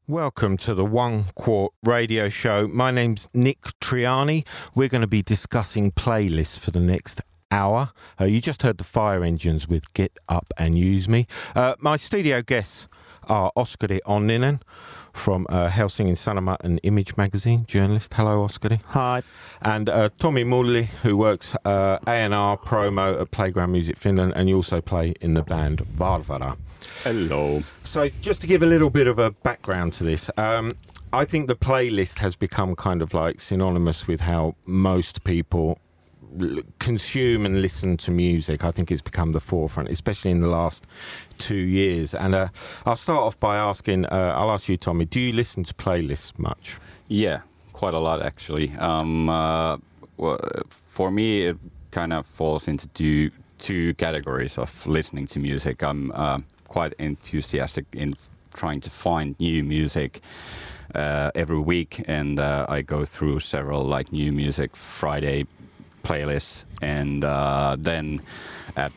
Welcome to the One Quart radio show. My name's Nick Triani. We're going to be discussing playlists for the next hour. You just heard the Fire Engines with Get Up and Use Me. My studio guests are Oskari Onninen from Helsingin Sanomat and Image magazine, journalist. Hello, Oskari. Hi. And Tommy Mulli, who works A&R promo at Playground Music Finland, and you also play in the band Varvara. Hello. So just to give a little bit of a background to this, I think the playlist has become kind of like synonymous with how most people consume and listen to music. I think it's become the forefront, especially in the last 2 years. And I'll start off by asking, I'll ask you, Tommy, do you listen to playlists much? Yeah, quite a lot actually. Well, for me, it kind of falls into two categories of listening to music. I'm quite enthusiastic in trying to find new music every week, and I go through several like new music Friday playlists, and then at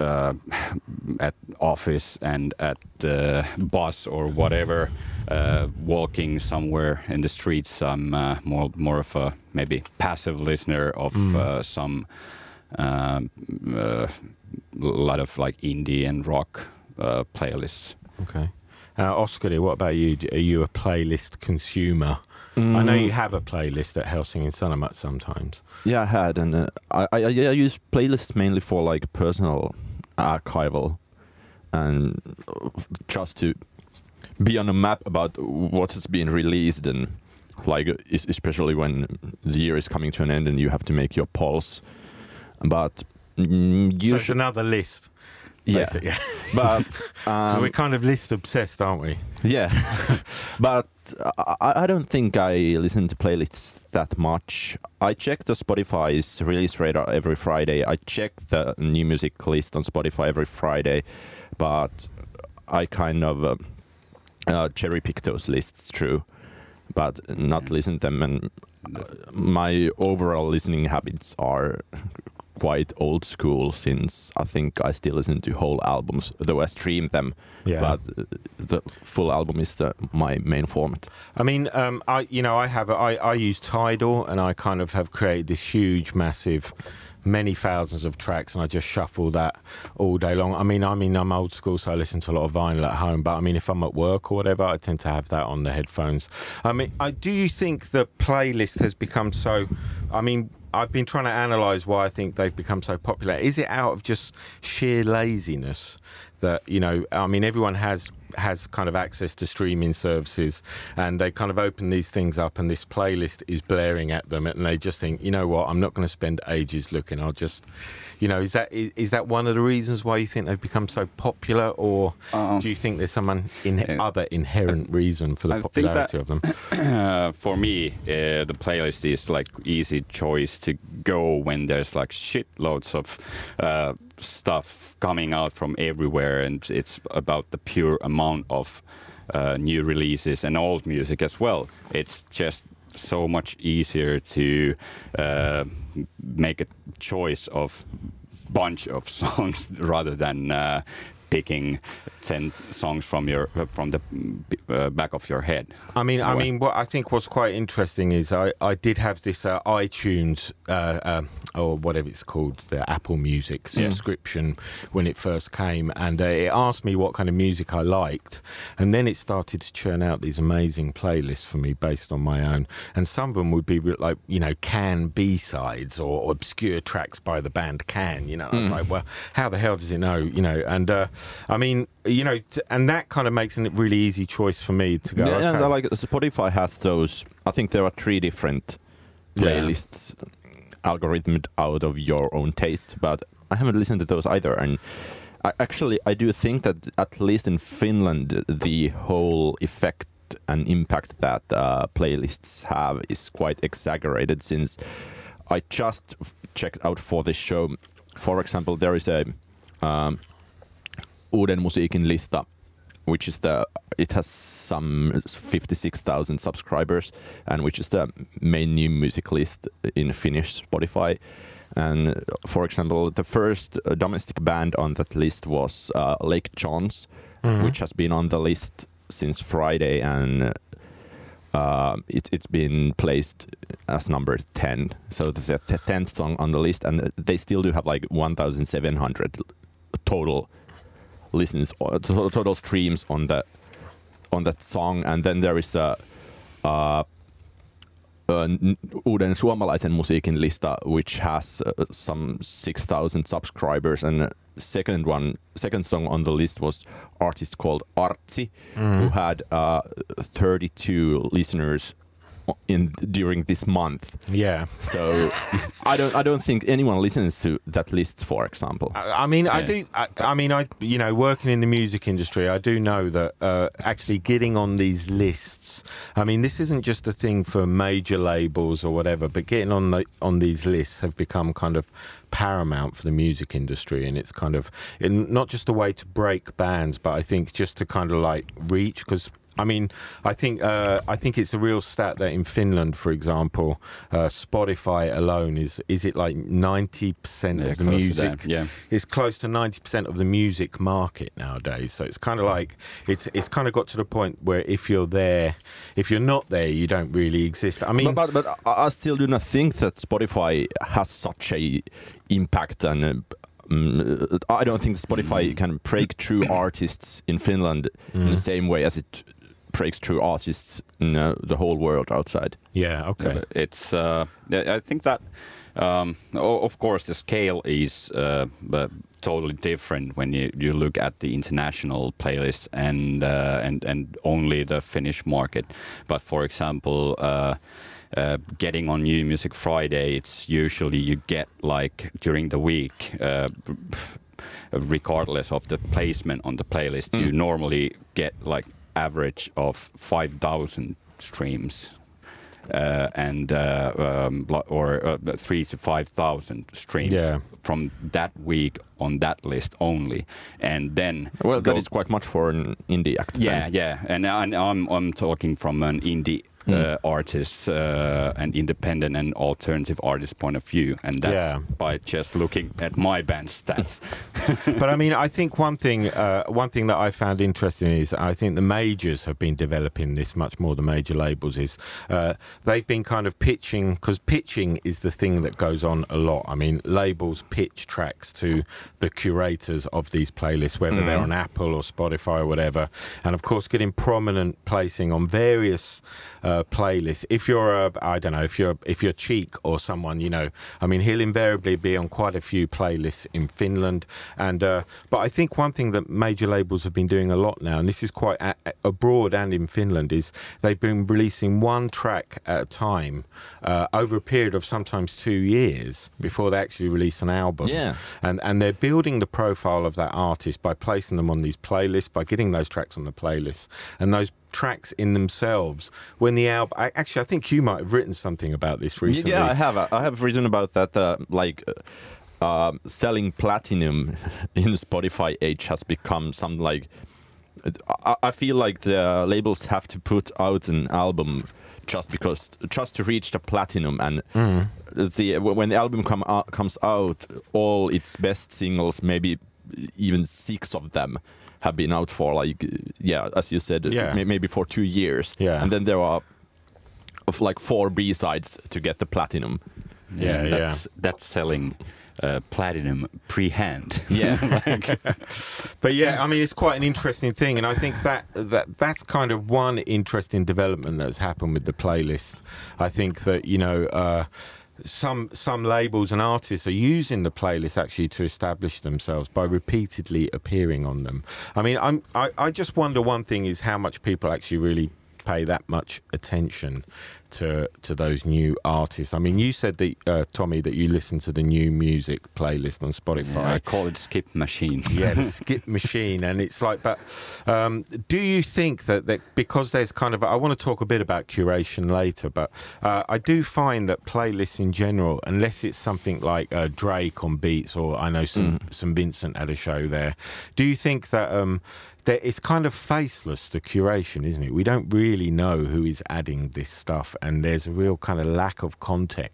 office and at the bus or whatever, walking somewhere in the streets, I'm more of a maybe passive listener of some lot of like indie and rock playlists. Okay. Oskari, what about you? Are you a playlist consumer? I know you have a playlist at Helsingin Sanomat sometimes. Yeah, I had, and I use playlists mainly for like personal archival and just to be on a map about what has been released, and like especially when the year is coming to an end and you have to make your polls. But So it's another list. yeah, but So we're kind of list obsessed, aren't we? yeah, but I don't think I listen to playlists that much. I check the Spotify's release radar every Friday. I check the new music list on Spotify every Friday, but I kind of cherry pick those lists through, but not listen to them. And my overall listening habits are quite old school, since I think I still listen to whole albums, though I stream them. Yeah. But the full album is my main format. I mean, I use Tidal, and I kind of have created this huge, massive, many thousands of tracks, and I just shuffle that all day long. I mean, I'm old school, so I listen to a lot of vinyl at home. But I mean, if I'm at work or whatever, I tend to have that on the headphones. I mean, do you think the playlist has become so? I mean, I've been trying to analyse why I think they've become so popular. Is it out of just sheer laziness that, you know, I mean, everyone has kind of access to streaming services, and they kind of open these things up and this playlist is blaring at them, and they just think, you know what, I'm not going to spend ages looking. I'll just, you know, is that one of the reasons why you think they've become so popular, or do you think there's some other inherent reason for the popularity of them? For me, the playlist is like easy choice to go when there's like shitloads of stuff coming out from everywhere, and it's about the pure amount of new releases and old music as well. It's just so much easier to make a choice of bunch of songs rather than picking 10 songs from the back of your head. I mean, what I think what's quite interesting is I did have this iTunes or whatever it's called, the Apple Music subscription when it first came, and it asked me what kind of music I liked, and then it started to churn out these amazing playlists for me based on my own, and some of them would be like, you know, Can B-sides or obscure tracks by the band Can, you know. I was like, well, how the hell does it know, you know? And I mean, you know, and that kind of makes a really easy choice for me to go. Yeah, okay. like Spotify has those. I think there are 3 different playlists algorithmed out of your own taste, but I haven't listened to those either. And I do think that at least in Finland, the whole effect and impact that playlists have is quite exaggerated, since I just checked out for this show. For example, there is a Uuden musiikin lista, which is it has some 56,000 subscribers, and which is the main new music list in Finnish Spotify. And for example, the first domestic band on that list was Lake John's, which has been on the list since Friday, and it's been placed as number 10. So it's the 10th song on the list, and they still do have like 1,700 total listens, or total streams on that song. And then there is a uuden suomalaisen musiikin lista, which has some 6,000 subscribers, and second song on the list was artist called Artsi, who had 32 listeners during this month. Yeah. So I don't think anyone listens to that list, for example. I mean, you know, working in the music industry, I do know that actually getting on these lists, I mean, this isn't just a thing for major labels or whatever, but getting on these lists have become kind of paramount for the music industry, and it's kind of not just a way to break bands, but I think just to kind of like reach, because I mean, I think it's a real stat that in Finland, for example, Spotify alone is it like 90% of the music? Yeah, it's close to 90% of the music market nowadays. So it's kind of like it's kind of got to the point where if you're not there, you don't really exist. I mean, but I still do not think that Spotify has such a impact, and I don't think Spotify can break through artists in Finland in the same way as it breaks through artists in the whole world outside. Yeah, okay. Yeah, it's I think that of course the scale is totally different when you look at the international playlists and only the Finnish market. But for example, getting on New Music Friday, it's usually you get like during the week, regardless of the placement on the playlist, you normally get like average of 5,000 streams. Or 3,000 to 5,000 streams from that week on that list only, and then that is quite much for an indie act. Yeah, and I'm talking from an indie artist and independent and alternative artist point of view, and that's by just looking at my band stats. But I mean, I think one thing that I found interesting is I think the majors have been developing this much more. The major labels is they've been kind of pitching, because pitching is the thing that goes on a lot. I mean, labels pitch tracks to the curators of these playlists, whether they're on Apple or Spotify or whatever, and of course getting prominent placing on various playlists. If you're if you're Cheek or someone, you know, I mean, he'll invariably be on quite a few playlists in Finland. And but I think one thing that major labels have been doing a lot now, and this is quite abroad and in Finland, is they've been releasing one track at a time over a period of sometimes 2 years before they actually release an album. Yeah. And they're building the profile of that artist by placing them on these playlists, by getting those tracks on the playlists, and those tracks in themselves when the album I think you might have written something about this recently. Yeah, I have written about that, selling platinum in the Spotify age has become something like, I feel like the labels have to put out an album just to reach the platinum, and when the album comes out, all its best singles, maybe even 6 of them, have been out for as you said, maybe for 2 years, and then there are like 4 B-sides to get the platinum. That's selling platinum pre-hand. But yeah, I mean, it's quite an interesting thing, and I think that's kind of one interesting development that's happened with the playlist. I think that, you know, some labels and artists are using the playlist actually to establish themselves by repeatedly appearing on them. I mean, I just wonder, one thing is how much people actually really pay that much attention to those new artists. I mean, you said that Tommy, that you listen to the new music playlist on Spotify. Yeah, I call it Skip Machine. Yeah, the Skip Machine, and it's like, but do you think that because there's kind of, I want to talk a bit about curation later, but I do find that playlists in general, unless it's something like Drake on Beats, or I know some Vincent had a show there, do you think that it's kind of faceless, the curation, isn't it? We don't really know who is adding this stuff, and there's a real kind of lack of context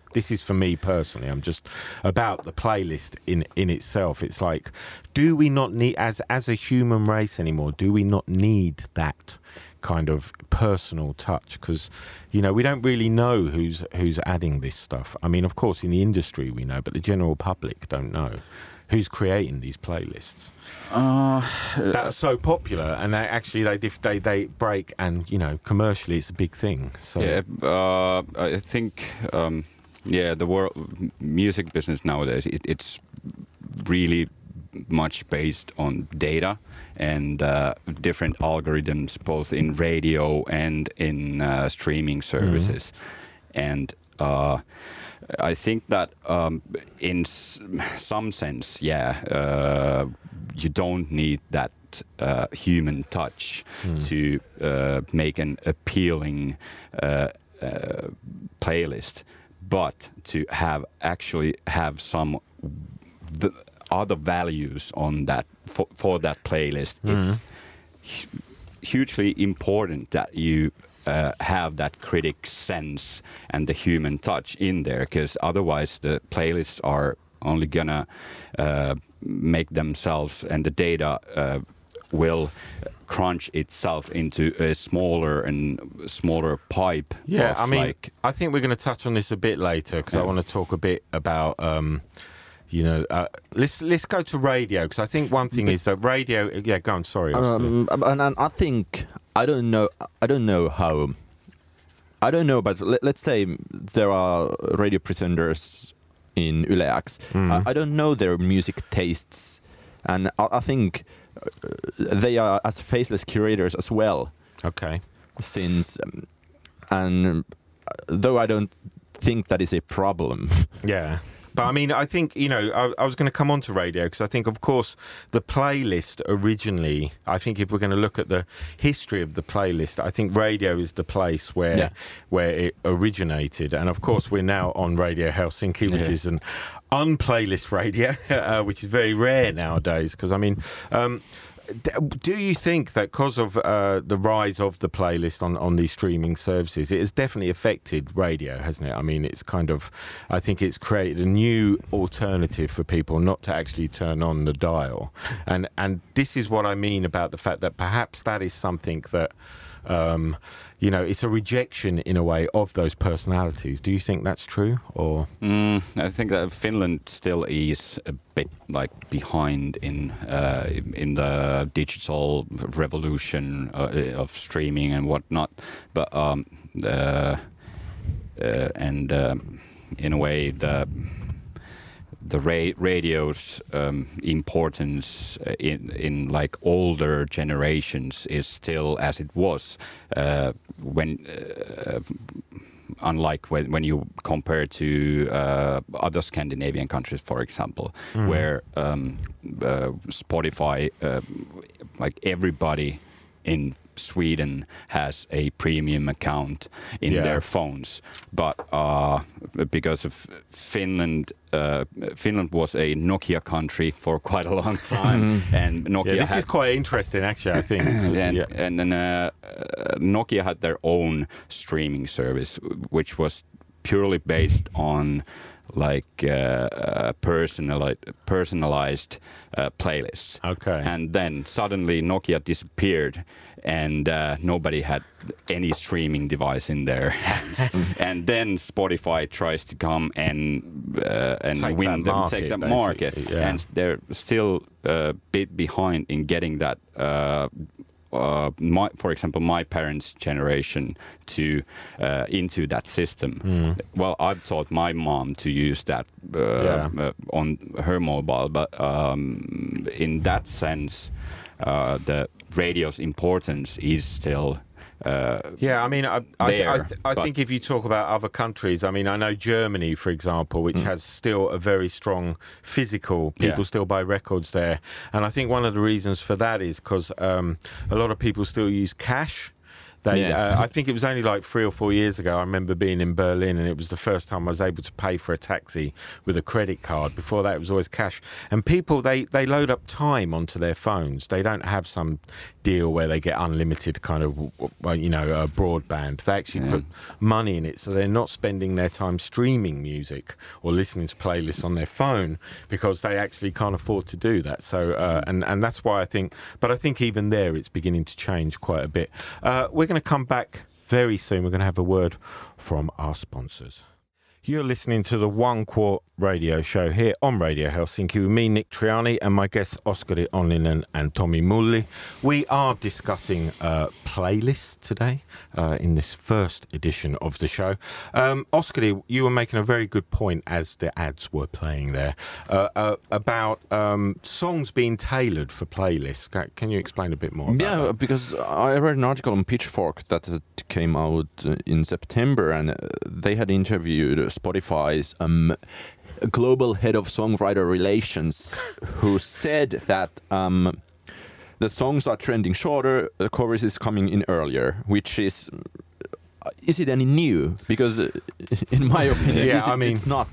this is for me personally. I'm just about the playlist in itself. It's like, do we not need, as a human race anymore, do we not need that kind of personal touch? Because, you know, we don't really know who's adding this stuff. I mean, of course, in the industry we know, but the general public don't know who's creating these playlists that are so popular, and they break, and, you know, commercially it's a big thing. So yeah, I think the world music business nowadays, it's really much based on data and different algorithms, both in radio and in streaming services. And I think that in some sense, you don't need that human touch to make an appealing playlist, but to actually have some other values on that for that playlist. It's hugely important that you have that critic sense and the human touch in there, because otherwise the playlists are only gonna make themselves, and the data will crunch itself into a smaller pipe. Yeah, I mean, I think we're going to touch on this a bit later, because I want to talk a bit about let's go to radio, because I think one thing is that radio. Yeah, go on. Sorry. And I think I don't know how. I don't know, but let's say there are radio presenters in Yle X. I don't know their music tastes, and I think they are as faceless curators as well. Okay. Since and though I don't think that is a problem. Yeah. But I mean, I think, you know, I was going to come on to radio, because I think, of course, the playlist originally, I think if we're going to look at the history of the playlist, I think radio is the place where it originated. And of course, we're now on Radio Helsinki, which is an unplaylist radio, which is very rare nowadays. Because, I mean, do you think that because of the rise of the playlist on these streaming services, it has definitely affected radio, hasn't it? I mean, it's kind of, I think it's created a new alternative for people not to actually turn on the dial. And this is what I mean about the fact that perhaps that is something that, you know, it's a rejection in a way of those personalities. Do you think that's true? Or I think that Finland still is a bit like behind in the digital revolution of streaming and whatnot. But in a way, the radio's importance in like older generations is still as it was when unlike when you compare to other Scandinavian countries, for example, where Spotify, like everybody in Sweden has a premium account in their phones, but because of Finland was a Nokia country for quite a long time, and Nokia this is quite interesting, actually, I think. and then Nokia had their own streaming service, which was purely based on like personalized playlists. Okay. And then suddenly Nokia disappeared, and nobody had any streaming device in their hands. And then Spotify tries to come and take that market. Yeah. And they're still a bit behind in getting that. For example, my parents' generation to into that system. Well, I've taught my mom to use that on her mobile, but in that sense, the radio's importance is still. I mean, I think if you talk about other countries, I mean, I know Germany, for example, which has still a very strong physical, people still buy records there. And I think one of the reasons for that is because a lot of people still use cash. I think it was only like 3 or 4 years ago. I remember being in Berlin, and it was the first time I was able to pay for a taxi with a credit card. Before that, it was always cash. And people, they load up time onto their phones. They don't have some deal where they get unlimited kind of, broadband. They actually put money in it, so they're not spending their time streaming music or listening to playlists on their phone because they actually can't afford to do that. So, and that's why I think even there it's beginning to change quite a bit. We're going to come back very soon. We're going to have a word from our sponsors. You're listening to the One Quart radio show here on Radio Helsinki with me, Nick Triani, and my guests Oskari Onninen and Tommi Mulli. We are discussing playlists today in this first edition of the show. Oskari, you were making a very good point as the ads were playing there about songs being tailored for playlists. Can you explain a bit more about that? Yeah, because I read an article on Pitchfork that came out in September, and they had interviewed Spotify's global head of songwriter relations, who said that the songs are trending shorter, the chorus is coming in earlier, which is it any new? Because in my opinion, it's not.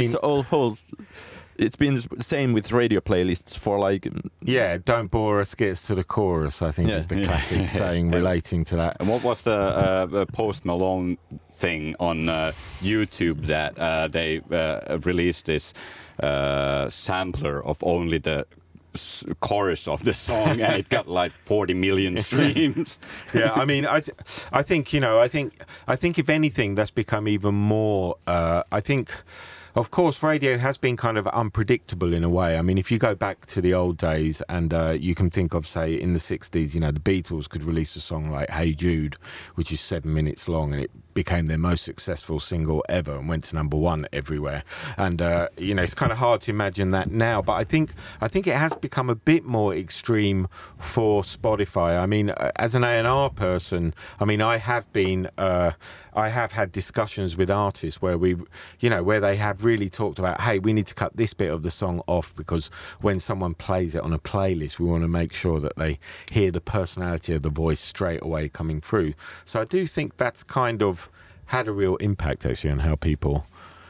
It's been the same with radio playlists for like... Yeah, don't bore us, get us to the chorus, I think is the classic saying relating to that. And what was the Post Malone thing on YouTube that they released this sampler of only the chorus of the song, and it got like 40 million streams. Yeah, I mean, I think if anything, that's become even more. Of course, radio has been kind of unpredictable in a way. I mean, if you go back to the old days and you can think of, say, in the 60s, the Beatles could release a song like Hey Jude, which is 7 minutes long, and it became their most successful single ever and went to #1 everywhere. And, it's kind of hard to imagine that now. But I think it has become a bit more extreme for Spotify. I mean, as an A&R person, I have had discussions with artists where where they have really talked about, hey, we need to cut this bit of the song off because when someone plays it on a playlist, we want to make sure that they hear the personality of the voice straight away coming through. So I do think that's kind of had a real impact actually on how people,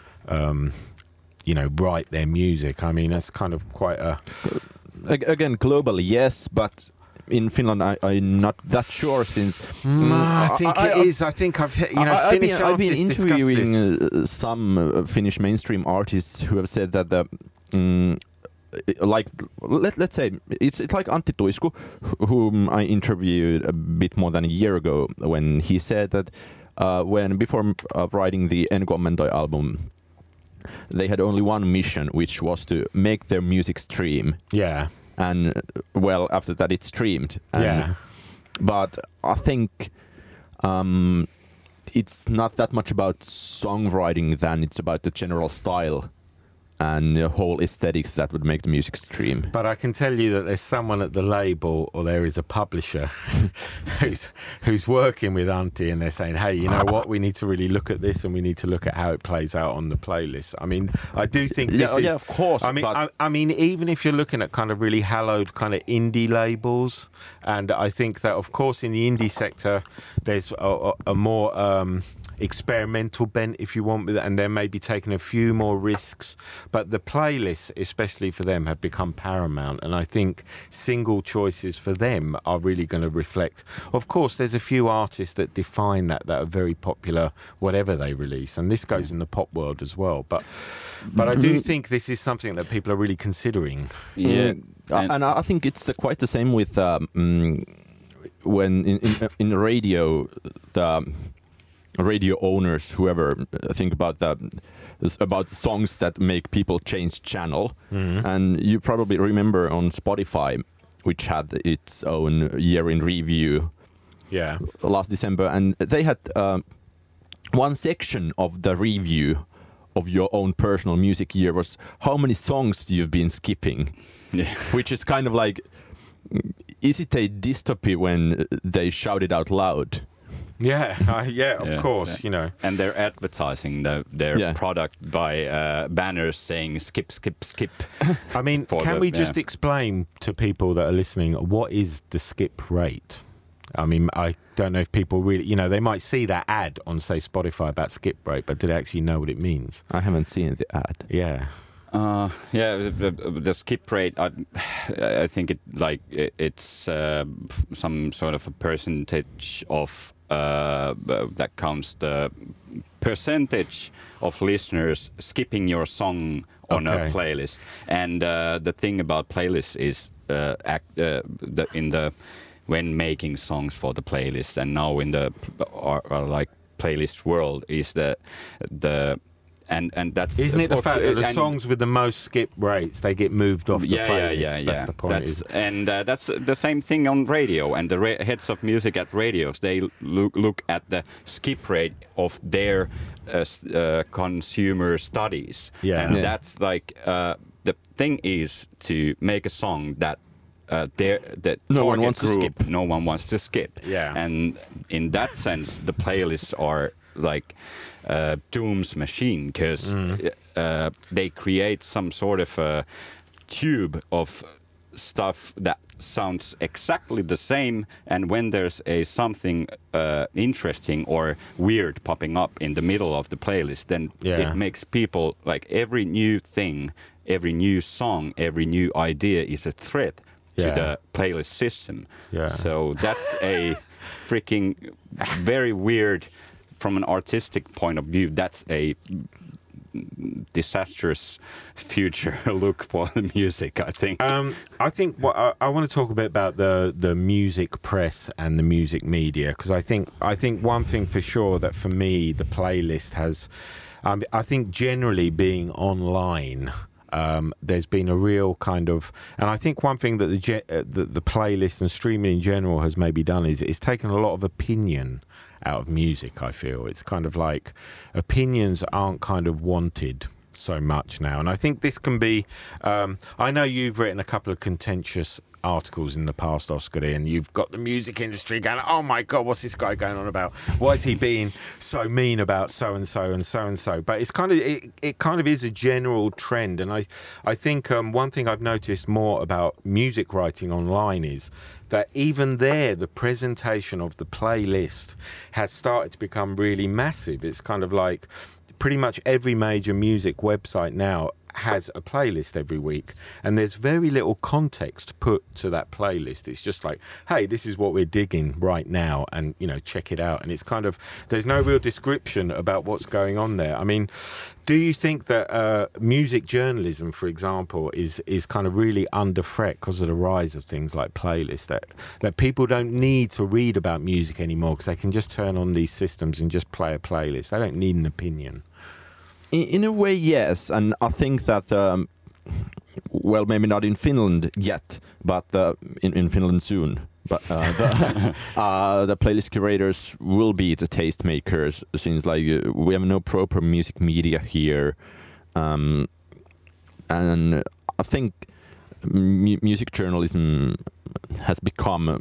write their music. I mean, that's kind of quite a... Again, globally, yes, but... In Finland, I'm not that sure since... I think it is. I think I've been interviewing some Finnish mainstream artists who have said that let's say it's like Antti Tuisku, whom I interviewed a bit more than a year ago, when he said that before writing the En Kommentoi album, they had only one mission, which was to make their music stream. Yeah. And after that it's streamed. But I think it's not that much about songwriting than it's about the general style and the whole aesthetics that would make the music stream. But I can tell you that there's someone at the label, or there is a publisher who's working with Antti, and they're saying, hey, you know what, we need to really look at this, and we need to look at how it plays out on the playlist. I mean, I do think this is... Yeah, of course. I mean, even if you're looking at kind of really hallowed kind of indie labels, and I think that, of course, in the indie sector, there's a more... experimental bent, if you want, with it, and they're maybe taking a few more risks, but the playlists, especially for them, have become paramount, and I think single choices for them are really going to reflect. Of course, there's a few artists that define that are very popular, whatever they release, and this goes in the pop world as well. But I do think this is something that people are really considering. Yeah, and I think it's quite the same with when in radio, the radio owners, whoever, think about the songs that make people change channel. And you probably remember on Spotify, which had its own year in review last December, and they had one section of the review of your own personal music year was how many songs you've been skipping. Which is kind of like, is it a dystopy when they shout it out loud? Of course, And they're advertising their product by banners saying skip, skip, skip. I mean, can we just explain to people that are listening what is the skip rate? I mean, I don't know if people really, you know, they might see that ad on, say, Spotify about skip rate, but do they actually know what it means? I haven't seen the ad. Yeah. The skip rate, I think it's some sort of a percentage of that counts the percentage of listeners skipping your song on a playlist. And the thing about playlists is when making songs for the playlist, and now in the like playlist world, is the and that's isn't it the fact that the songs with the most skip rates, they get moved off the playlist? Yeah. That's the point. That's the same thing on radio, and the heads of music at radios, they look at the skip rate of their consumer studies. That's like the thing is to make a song that no one wants group, to skip. No one wants to skip. Yeah. And in that sense, the playlists are like Doom's machine, because they create some sort of a tube of stuff that sounds exactly the same, and when there's something interesting or weird popping up in the middle of the playlist, then it makes people, like, every new thing, every new song, every new idea is a threat to the playlist system. So that's a freaking very weird, from an artistic point of view, that's a disastrous future look for the music, I think. I think what I want to talk a bit about the music press and the music media, because I think one thing for sure that for me the playlist has, I think generally being online, there's been a real kind of, and I think one thing that the playlist and streaming in general has maybe done is it's taken a lot of opinion out of music. I feel it's kind of like opinions aren't kind of wanted so much now, and I think this can be, I know you've written a couple of contentious articles in the past, Oscar, and you've got the music industry going, oh my god, what's this guy going on about? Why is he being so mean about so and so and so and so? But it's kind of it kind of is a general trend, and I think one thing I've noticed more about music writing online is that even there, the presentation of the playlist has started to become really massive. It's kind of like pretty much every major music website now has a playlist every week, and there's very little context put to that playlist. It's just like, hey, this is what we're digging right now, and you know, check it out. And it's kind of, there's no real description about what's going on there. I mean, do you think that music journalism, for example, is kind of really under threat because of the rise of things like playlists, that people don't need to read about music anymore because they can just turn on these systems and just play a playlist? They don't need an opinion. In a way, yes, and I think that, well, maybe not in Finland yet, but in Finland soon. But the playlist curators will be the tastemakers, since like we have no proper music media here, and I think music journalism has become.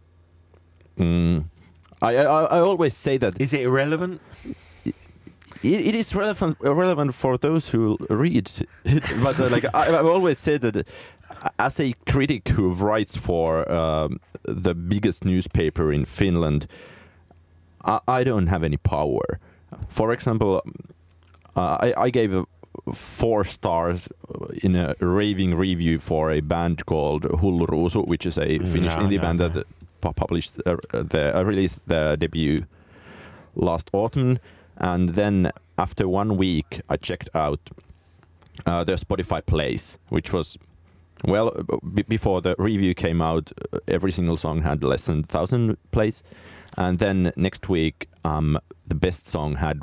I always say that. Is it irrelevant? It is relevant for those who read it, but like I've always said that as a critic who writes for the biggest newspaper in Finland, I don't have any power. For example, I gave 4 stars in a raving review for a band called Hullu Ruusu, which is a Finnish indie band that published released their debut last autumn. And then after 1 week, I checked out their Spotify plays, which was, well, before the review came out, every single song had less than 1,000 plays. And then next week, the best song had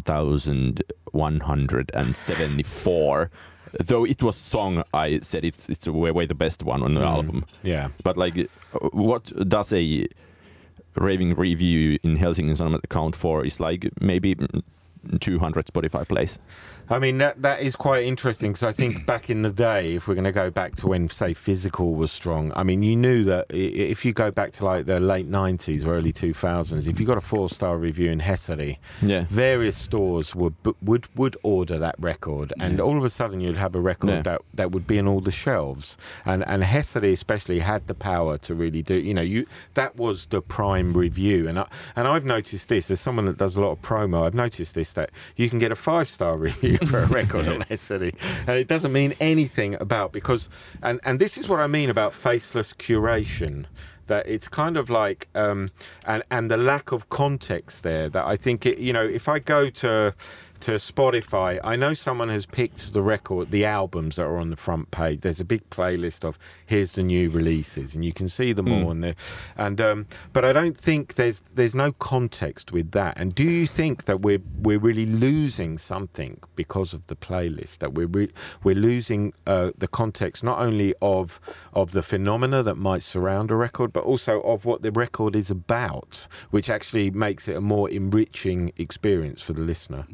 1,174. Though it was song, I said it's way the best one on the album. Yeah. But like, what does a raving review in Helsingin Sanomat account for is like maybe 200 Spotify plays. I mean, that is quite interesting because I think back in the day, if we're going to go back to when, say, physical was strong, I mean, you knew that if you go back to like the late 90s or early 2000s, if you got a 4-star review in Hesari, various stores would order that record, and all of a sudden you'd have a record that would be in all the shelves. And Hesari especially had the power to really do, that was the prime review. And I've noticed this, as someone that does a lot of promo, I've noticed this, that you can get a 5-star review for a record on Hesari, and it doesn't mean anything about, because and this is what I mean about faceless curation, that it's kind of like and the lack of context there, that I think if I go to Spotify, I know someone has picked the albums that are on the front page. There's a big playlist of here's the new releases, and you can see them all. But I don't think there's no context with that. And do you think that we're really losing something because of the playlist? That we're losing the context not only of the phenomena that might surround a record, but also of what the record is about, which actually makes it a more enriching experience for the listener.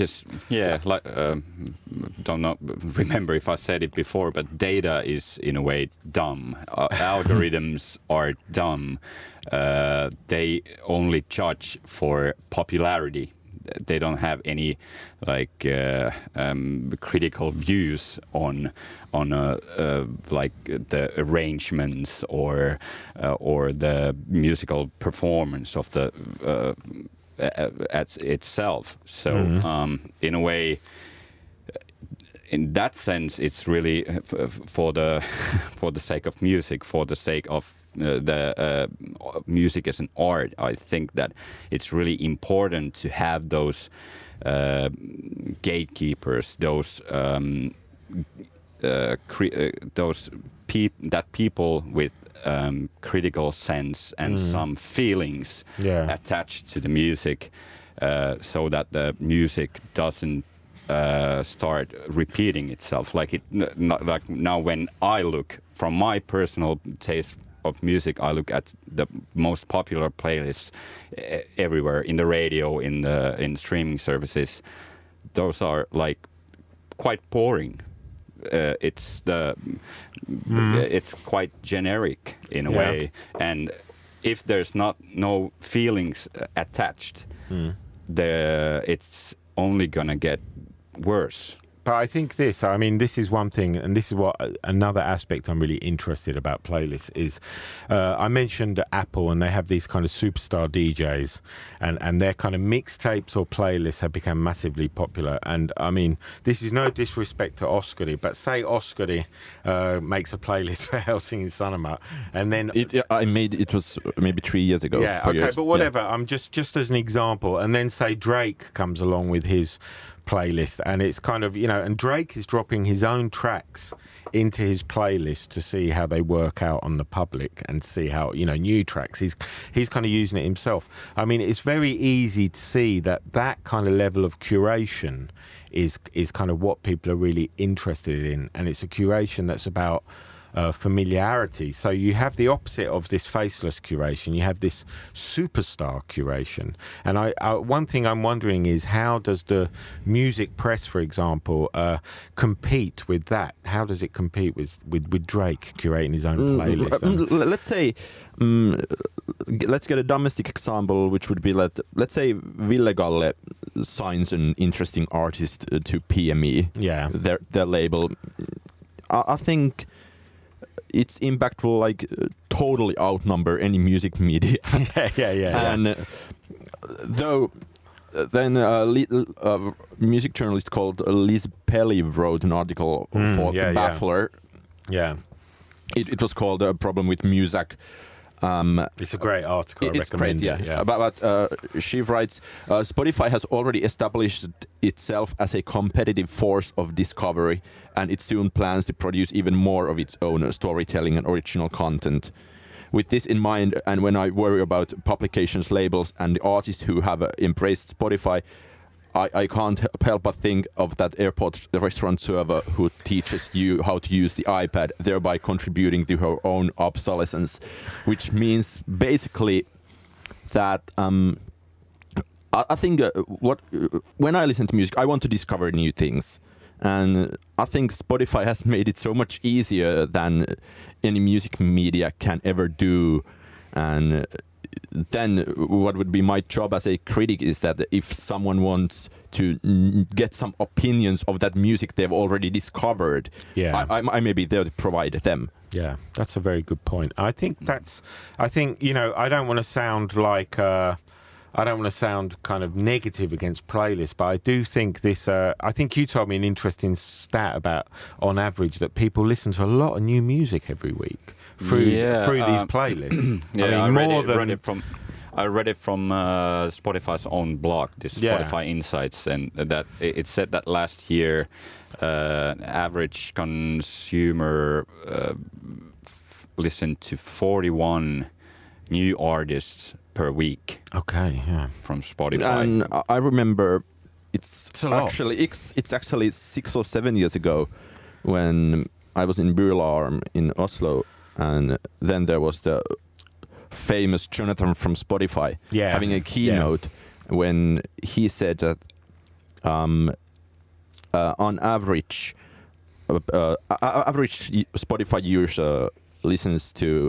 Don't know, remember if I said it before, but data is in a way dumb. Algorithms are dumb. They only judge for popularity. They don't have any critical views on the arrangements or the musical performance of the itself. So in a way, in that sense, it's really for the sake of music, for the sake of the music as an art. I think that it's really important to have those gatekeepers, those people with critical sense and some feelings attached to the music, so that the music doesn't start repeating itself. Like now, when I look from my personal taste of music, I look at the most popular playlists everywhere, in the radio, in streaming services. Those are like quite boring. It's quite generic in a way, and if there's no feelings attached, it's only gonna get worse. But I think this is one thing, and this is what another aspect I'm really interested about playlists is. I mentioned Apple, and they have these kind of superstar DJs, and their kind of mixtapes or playlists have become massively popular. And I mean, this is no disrespect to Oskari, but say Oskari makes a playlist for Helsingin Sanomat, and then it was maybe 3 years ago. Yeah, okay, but whatever. I'm just as an example, and then say Drake comes along with his playlist, and it's kind of and Drake is dropping his own tracks into his playlist to see how they work out on the public and see how new tracks. He's kind of using it himself. I mean, it's very easy to see that kind of level of curation is kind of what people are really interested in, and it's a curation that's about familiarity. So you have the opposite of this faceless curation. You have this superstar curation. And one thing I'm wondering is, how does the music press, for example, compete with that? How does it compete with Drake curating his own playlist? Let's say, let's get a domestic example, which would be let's say Ville Galle signs an interesting artist to PME, their label. I think its impact will totally outnumber any music media. And though then a music journalist called Liz Pelly wrote an article for The Baffler. It was called A Problem with Music. It's a great article. It's great, But she writes, Spotify has already established itself as a competitive force of discovery, and it soon plans to produce even more of its own storytelling and original content. With this in mind, and when I worry about publications, labels, and the artists who have embraced Spotify, I can't help but think of that airport restaurant server who teaches you how to use the iPad, thereby contributing to her own obsolescence, which means basically that I think when I listen to music, I want to discover new things, and I think Spotify has made it so much easier than any music media can ever do. And then what would be my job as a critic is that if someone wants to get some opinions of that music they've already discovered, I may be there to provide them. Yeah, that's a very good point. I think you know, I don't want to sound like I don't want to sound kind of negative against playlists, but I do think this. I think you told me an interesting stat about, on average, that people listen to a lot of new music every week through these playlists. Yeah, I read it from Spotify's own blog, this Spotify Insights, and that it said that last year, average consumer listened to 41 new artists per week. Okay, yeah. From Spotify. And I remember it's actually 6 or 7 years ago when I was in Bylarm in Oslo, and then there was the famous Jonathan from Spotify having a keynote when he said that on average Spotify user listens to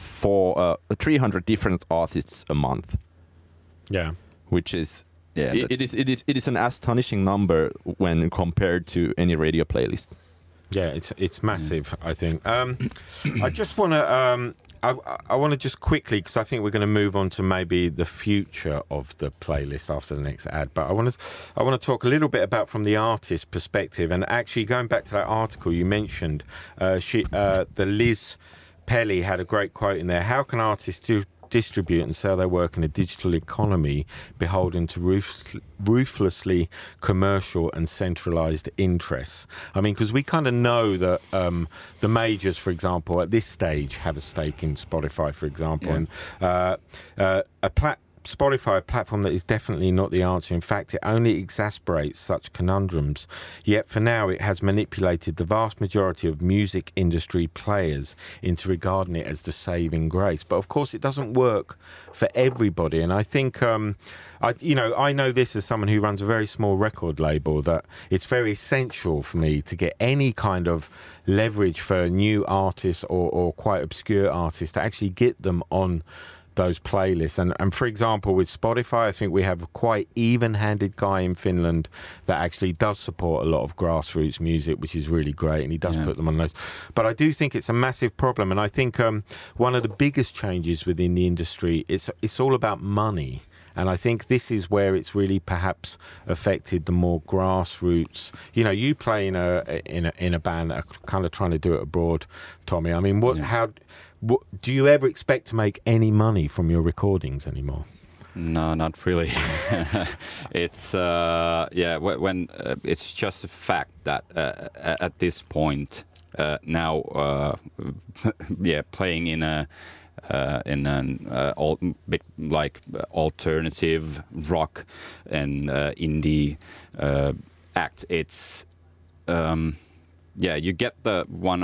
300 different artists a month. Yeah, which is it is an astonishing number when compared to any radio playlist. Yeah, it's massive. I think. I just want to. I want to just quickly, because I think we're going to move on to maybe the future of the playlist after the next ad. But I want to talk a little bit about from the artist perspective, and actually going back to that article you mentioned, the Liz Pelly had a great quote in there. How can artists distribute and sell their work in a digital economy beholden to ruthlessly commercial and centralized interests? I mean, because we kind of know that the majors, for example, at this stage have a stake in Spotify, for example, and Spotify, a platform that is definitely not the answer. In fact, it only exasperates such conundrums. Yet for now, it has manipulated the vast majority of music industry players into regarding it as the saving grace. But of course, it doesn't work for everybody. And I think, I know this as someone who runs a very small record label, that it's very essential for me to get any kind of leverage for new artists or quite obscure artists to actually get them on those playlists. And for example, with Spotify, I think we have a quite even-handed guy in Finland that actually does support a lot of grassroots music, which is really great, and he does put them on those. But I do think it's a massive problem, and I think one of the biggest changes within the industry, it's all about money. And I think this is where it's really perhaps affected the more grassroots. You know, you play in a band that are kind of trying to do it abroad, Tommy. I mean, what do you ever expect to make any money from your recordings anymore? No, not really. It's when it's just a fact that at this point now, playing in an alternative rock and indie act, it's you get the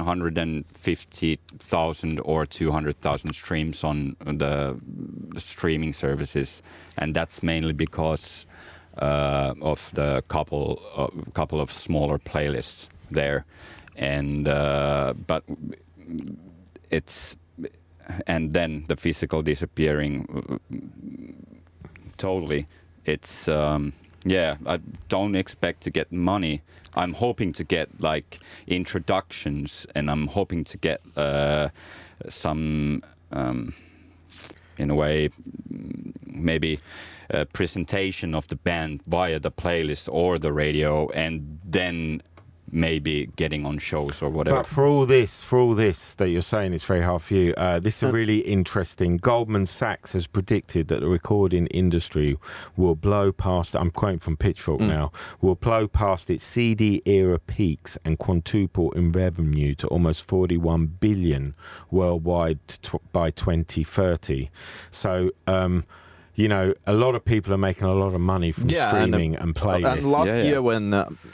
150,000 or 200,000 streams on the streaming services, and that's mainly because of the couple of smaller playlists there, and but it's. And then the physical disappearing totally. It's I don't expect to get money. I'm hoping to get like introductions, and I'm hoping to get some in a way maybe a presentation of the band via the playlist or the radio, and then maybe getting on shows or whatever. But for all this that you're saying, it's very hard for you. This is really interesting. Goldman Sachs has predicted that the recording industry will blow past, I'm quoting from Pitchfork now, will blow past its CD era peaks and quintuple in revenue to almost 41 billion worldwide by 2030. So, you know, a lot of people are making a lot of money from streaming and playlists. And last year when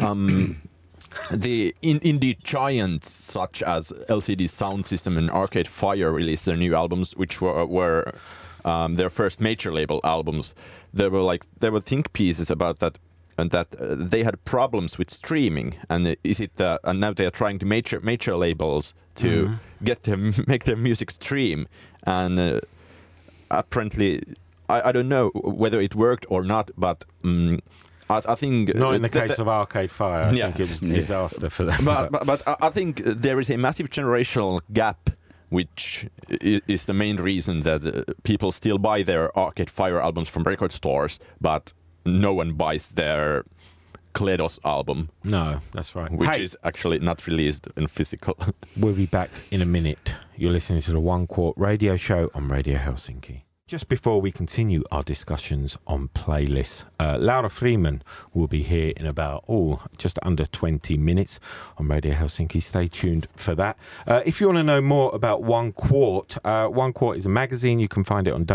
the indie giants such as LCD Sound System and Arcade Fire released their new albums, which were their first major label albums. there were think pieces about that, and that they had problems with streaming, and and now they are trying to major labels to make their music stream, and apparently I don't know whether it worked or not, but I think not in the case of Arcade Fire. I think it was a disaster for them. But I think there is a massive generational gap, which is the main reason that people still buy their Arcade Fire albums from record stores, but no one buys their Kledos album. No, that's right. Which is actually not released in physical. We'll be back in a minute. You're listening to the One Quart radio show on Radio Helsinki. Just before we continue our discussions on playlists, Laura Freeman will be here in about, just under 20 minutes on Radio Helsinki. Stay tuned for that. If you want to know more about One Quart, One Quart is a magazine. You can find it on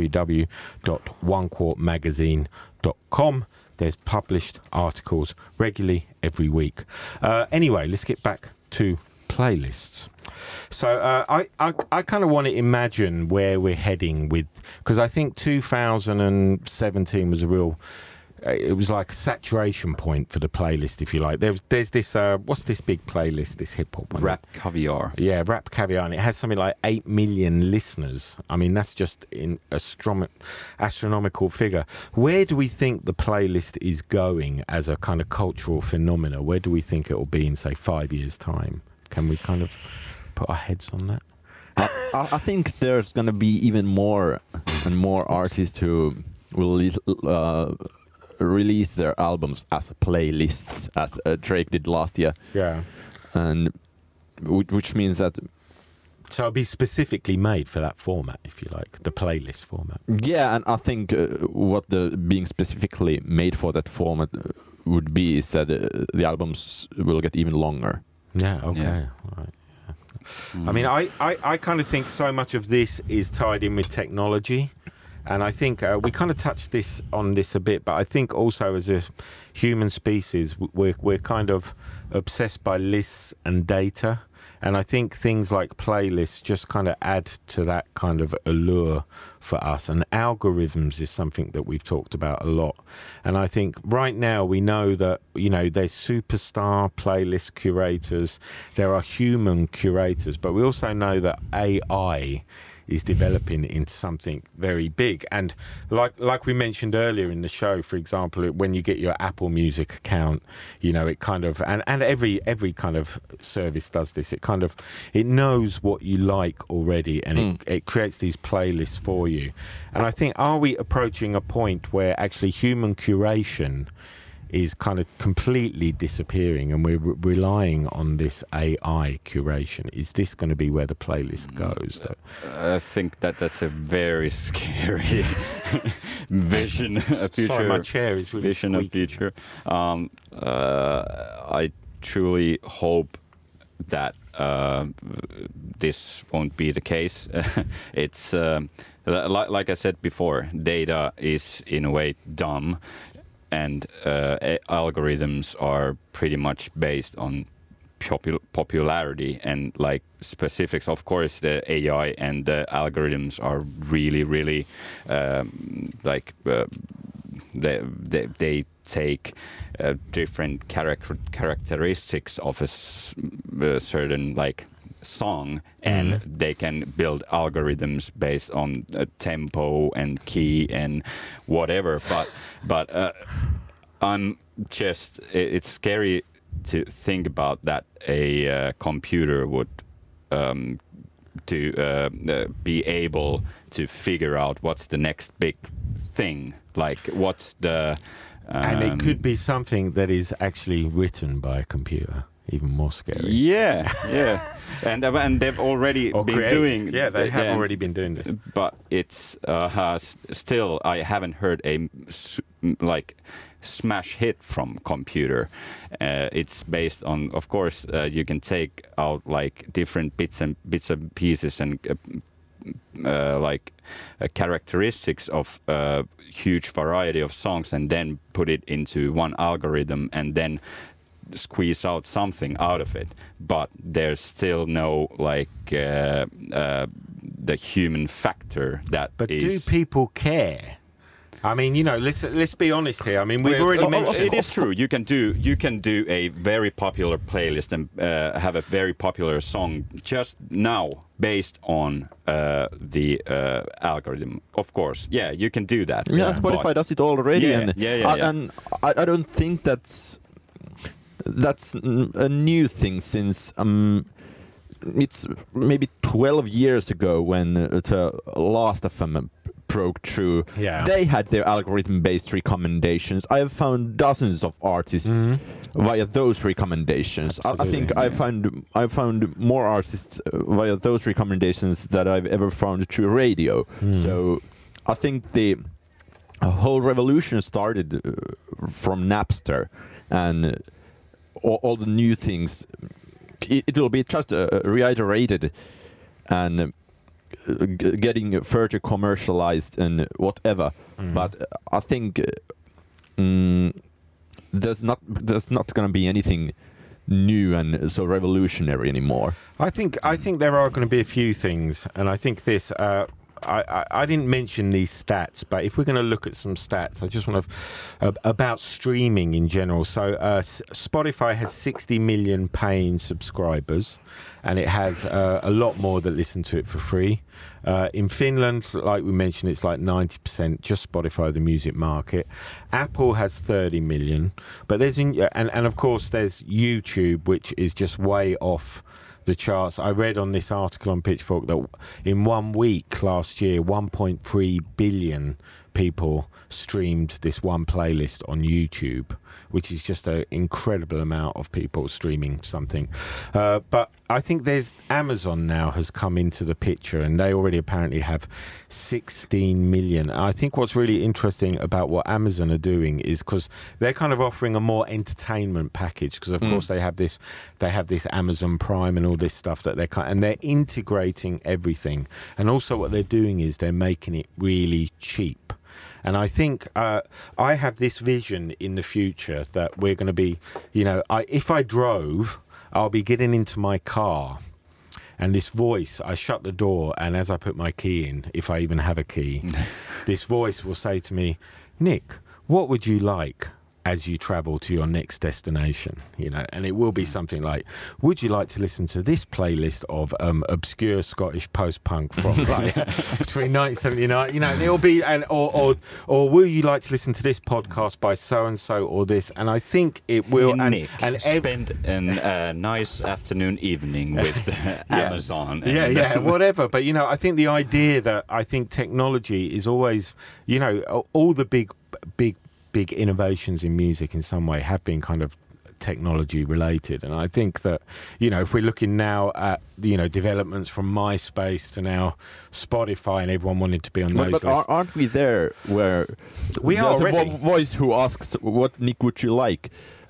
www.onequartmagazine.com. There's published articles regularly every week. Anyway, let's get back to playlists. So I kind of want to imagine where we're heading with, because I think 2017 was it was like a saturation point for the playlist, if you like. There's this, what's this big playlist, this hip-hop one? Rap Caviar. Yeah, Rap Caviar, and it has something like 8 million listeners. I mean, that's just an astronomical figure. Where do we think the playlist is going as a kind of cultural phenomena? Where do we think it will be in, say, 5 years' time? Can we kind of put our heads on that? I think there's going to be even more and more artists who will release their albums as playlists, as Drake did last year. Yeah. And which means that... So it'll be specifically made for that format, if you like, the playlist format. Yeah, and I think what being specifically made for that format would be is that the albums will get even longer. Yeah, okay. Yeah. All right. I mean, I kind of think so much of this is tied in with technology. And I think we kind of touched on this a bit, but I think also as a human species, we're kind of obsessed by lists and data. And I think things like playlists just kind of add to that kind of allure for us. And algorithms is something that we've talked about a lot. And I think right now we know that, there's superstar playlist curators, there are human curators, but we also know that AI is developing into something very big. And like we mentioned earlier in the show, for example, when you get your Apple Music account, it kind of, and every kind of service does this, it knows what you like already, and it creates these playlists for you. And I think, are we approaching a point where actually human curation is kind of completely disappearing and we're relying on this AI curation? Is this going to be where the playlist goes? I think that's a very scary vision, a future. Sorry, my chair is really vision squeaky. of future. I truly hope that this won't be the case. It's like I said before, data is in a way dumb. And algorithms are pretty much based on popularity and like specifics. Of course, the AI and the algorithms are really, really they take different characteristics of a certain song, and they can build algorithms based on tempo and key and whatever. But it's scary to think about that a computer would be able to figure out what's the next big thing, what's the and it could be something that is actually written by a computer. Even more scary. Yeah. and they've already been doing. Yeah, they have already been doing this. But it's still, I haven't heard a smash hit from computer. It's based on, of course, you can take out different bits and pieces and characteristics of a huge variety of songs, and then put it into one algorithm, and then squeeze out something out of it. But there's still no the human factor that But is... do people care? I mean, let's be honest here. I mean, we've already mentioned it is true. You can do a very popular playlist and have a very popular song just now based on the algorithm. Of course, yeah, you can do that. Yeah, Spotify does it already, Yeah, and yeah. and I don't think that's a new thing since it's maybe 12 years ago when the Last FM broke through. Yeah. They had their algorithm-based recommendations. I have found dozens of artists via those recommendations. I think I found more artists via those recommendations that I've ever found through radio. So I think the whole revolution started from Napster, and all the new things. It will be just reiterated and getting further commercialized and whatever. But I think there's not going to be anything new and so revolutionary anymore. I think there are going to be a few things, and I think this. I didn't mention these stats, but if we're going to look at some stats, I just want to about streaming in general. So Spotify has 60 million paying subscribers, and it has a lot more that listen to it for free. In Finland, like we mentioned, it's like 90% just Spotify, the music market. Apple has 30 million, but there's and of course there's YouTube, which is just way off the charts. I read on this article on Pitchfork that in 1 week last year, 1.3 billion people streamed this one playlist on YouTube, which is just an incredible amount of people streaming something. But I think there's Amazon now has come into the picture, and they already apparently have 16 million. I think what's really interesting about what Amazon are doing is because they're kind of offering a more entertainment package, because of course they have this Amazon Prime and all this stuff that they're integrating everything. And also what they're doing is they're making it really cheap. And I think I have this vision in the future that we're going to be, if I drove, I'll be getting into my car, and this voice, I shut the door, and as I put my key in, if I even have a key, this voice will say to me, Nick, what would you like as you travel to your next destination? And it will be something like, would you like to listen to this playlist of obscure Scottish post-punk from between 1979, it'll be, or will you like to listen to this podcast by so-and-so or this? And I think it will. Nick, spend a nice afternoon evening with Amazon. Whatever. But, I think the idea that I think technology is always, all the big innovations in music in some way have been kind of technology related. And I think that, if we're looking now at, developments from MySpace to now Spotify and everyone wanted to be on those lists. Aren't we there where we are already? A voice who asks, what Nick would you like?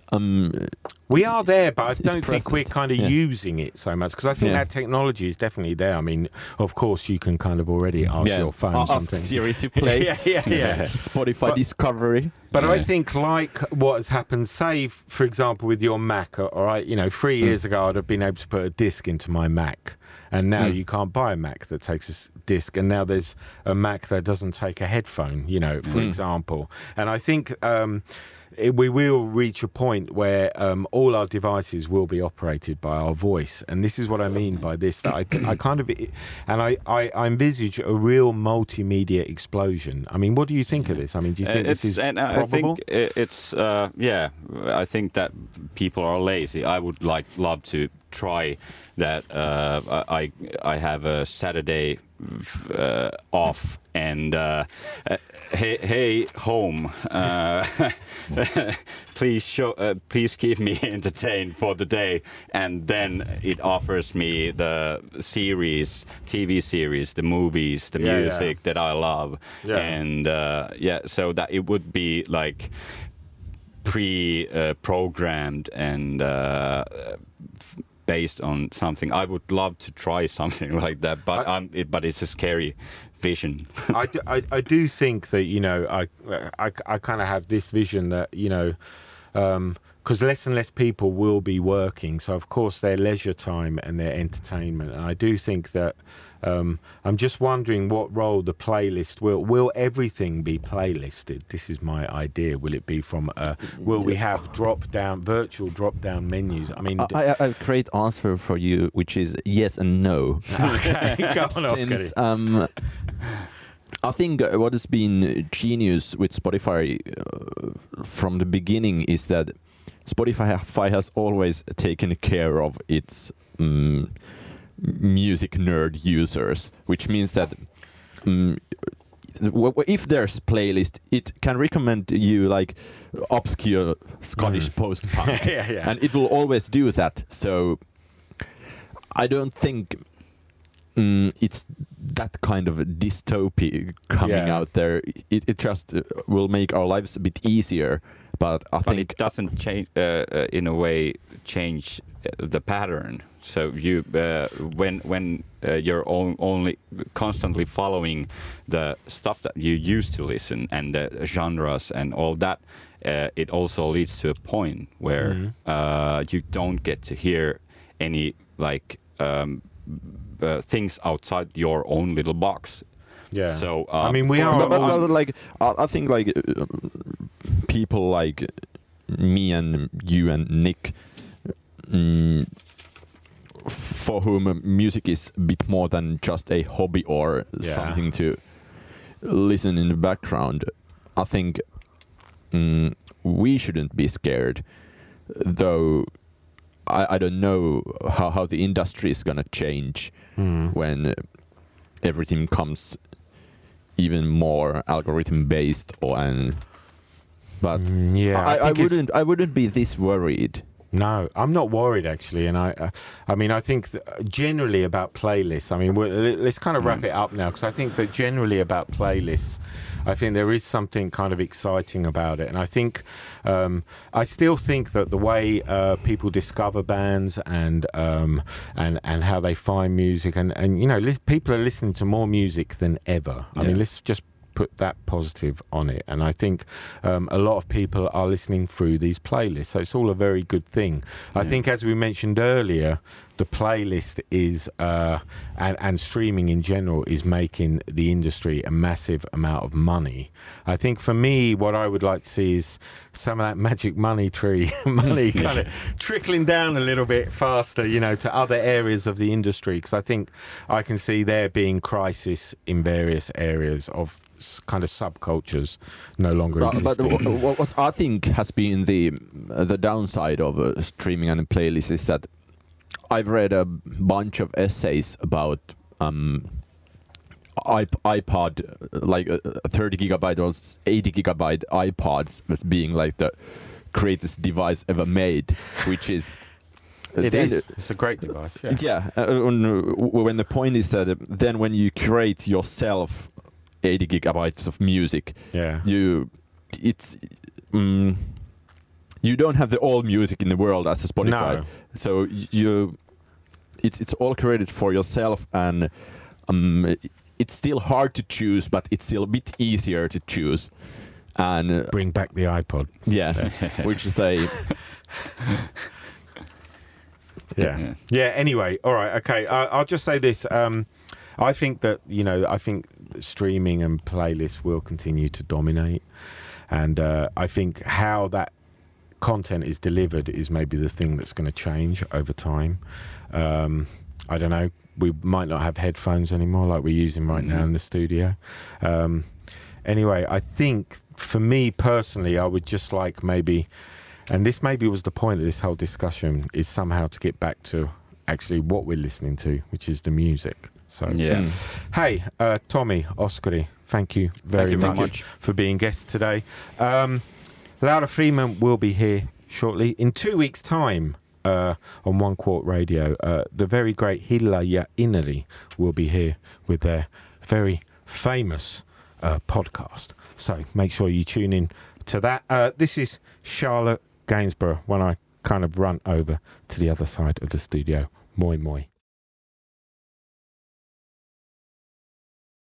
We are there, but I don't think we're kind of using it so much, because I think that technology is definitely there. I mean, of course, you can kind of already ask your phone something. Ask Siri to play. Spotify Discovery. But I think like what has happened, say, for example, with your Mac, all right, 3 years ago, I'd have been able to put a disc into my Mac. And now you can't buy a Mac that takes a disc. And now there's a Mac that doesn't take a headphone, for example. And I think we will reach a point where all our devices will be operated by our voice. And this is what I mean by this, that I kind of, and I envisage a real multimedia explosion. I mean, what do you think of this? I mean, do you think this is probable? I think it's, I think that people are lazy. I would love to try that. I have a Saturday off, and hey home, please keep me entertained for the day, and then it offers me the TV series, the movies, the music that I love, and so that it would be like pre-programmed and based on something. I would love to try something like that, but it's a scary vision. I do think that I kind of have this vision that because less and less people will be working. So, of course, their leisure time and their entertainment. And I do think that I'm just wondering what role the playlist will everything be playlisted? This is my idea. Will it be from will we have virtual drop down menus? I mean, I have a great answer for you, which is yes and no. Okay, go on, Oscar. Since I think what has been genius with Spotify from the beginning is that Spotify has always taken care of its music nerd users, which means that if there's playlist, it can recommend you like obscure Scottish post-punk, yeah. and it will always do that. So I don't think it's that kind of a dystopia coming out there. It just will make our lives a bit easier. But I think it doesn't change in a way change the pattern. So you when you're only constantly following the stuff that you used to listen and the genres and all that, it also leads to a point where you don't get to hear any like things outside your own little box. Yeah. So I mean, we are but like I think like people like me and you and Nick, for whom music is a bit more than just a hobby or something to listen in the background. I think we shouldn't be scared, though. I don't know how the industry is gonna change when everything comes even more algorithm based but I wouldn't be this worried. No, I'm not worried actually, and I mean I think generally about playlists. I mean let's kind of wrap it up now, because I think that generally about playlists, I think there is something kind of exciting about it, and I think I still think that the way people discover bands and how they find music, and you know people are listening to more music than ever. I mean, let's just put that positive on it, and I think a lot of people are listening through these playlists, so it's all a very good thing. I think, as we mentioned earlier, the playlist is and streaming in general is making the industry a massive amount of money. I think for me, what I would like to see is some of that magic money kind of trickling down a little bit faster, you know, to other areas of the industry, because I think I can see there being crisis in various areas of kind of subcultures no longer existing. But what I think has been the downside of streaming and playlists is that I've read a bunch of essays about iPod, like 30 gigabyte or 80 gigabyte iPods as being like the greatest device ever made, which is it's a great device. When the point is that then when you create yourself 80 gigabytes of music, you don't have the all music in the world as a Spotify. No. So it's all created for yourself, and it's still hard to choose, but it's still a bit easier to choose. And bring back the iPod. Yeah, which is a Anyway, all right, okay. I'll just say this. I think that streaming and playlists will continue to dominate, and I think how that content is delivered is maybe the thing that's going to change over time. I don't know. We might not have headphones anymore like we're using right now in the studio. Anyway, I think for me personally, I would just like maybe, and this maybe was the point of this whole discussion, is somehow to get back to actually what we're listening to, which is the music. So, hey, Tommy, Oskari, thank you very much for being guests today. Laura Freeman will be here shortly. In 2 weeks' time on One Quart Radio, the very great Hilla ja Inari will be here with their very famous podcast. So make sure you tune in to that. This is Charlotte Gainsborough when I kind of run over to the other side of the studio. Moi moi.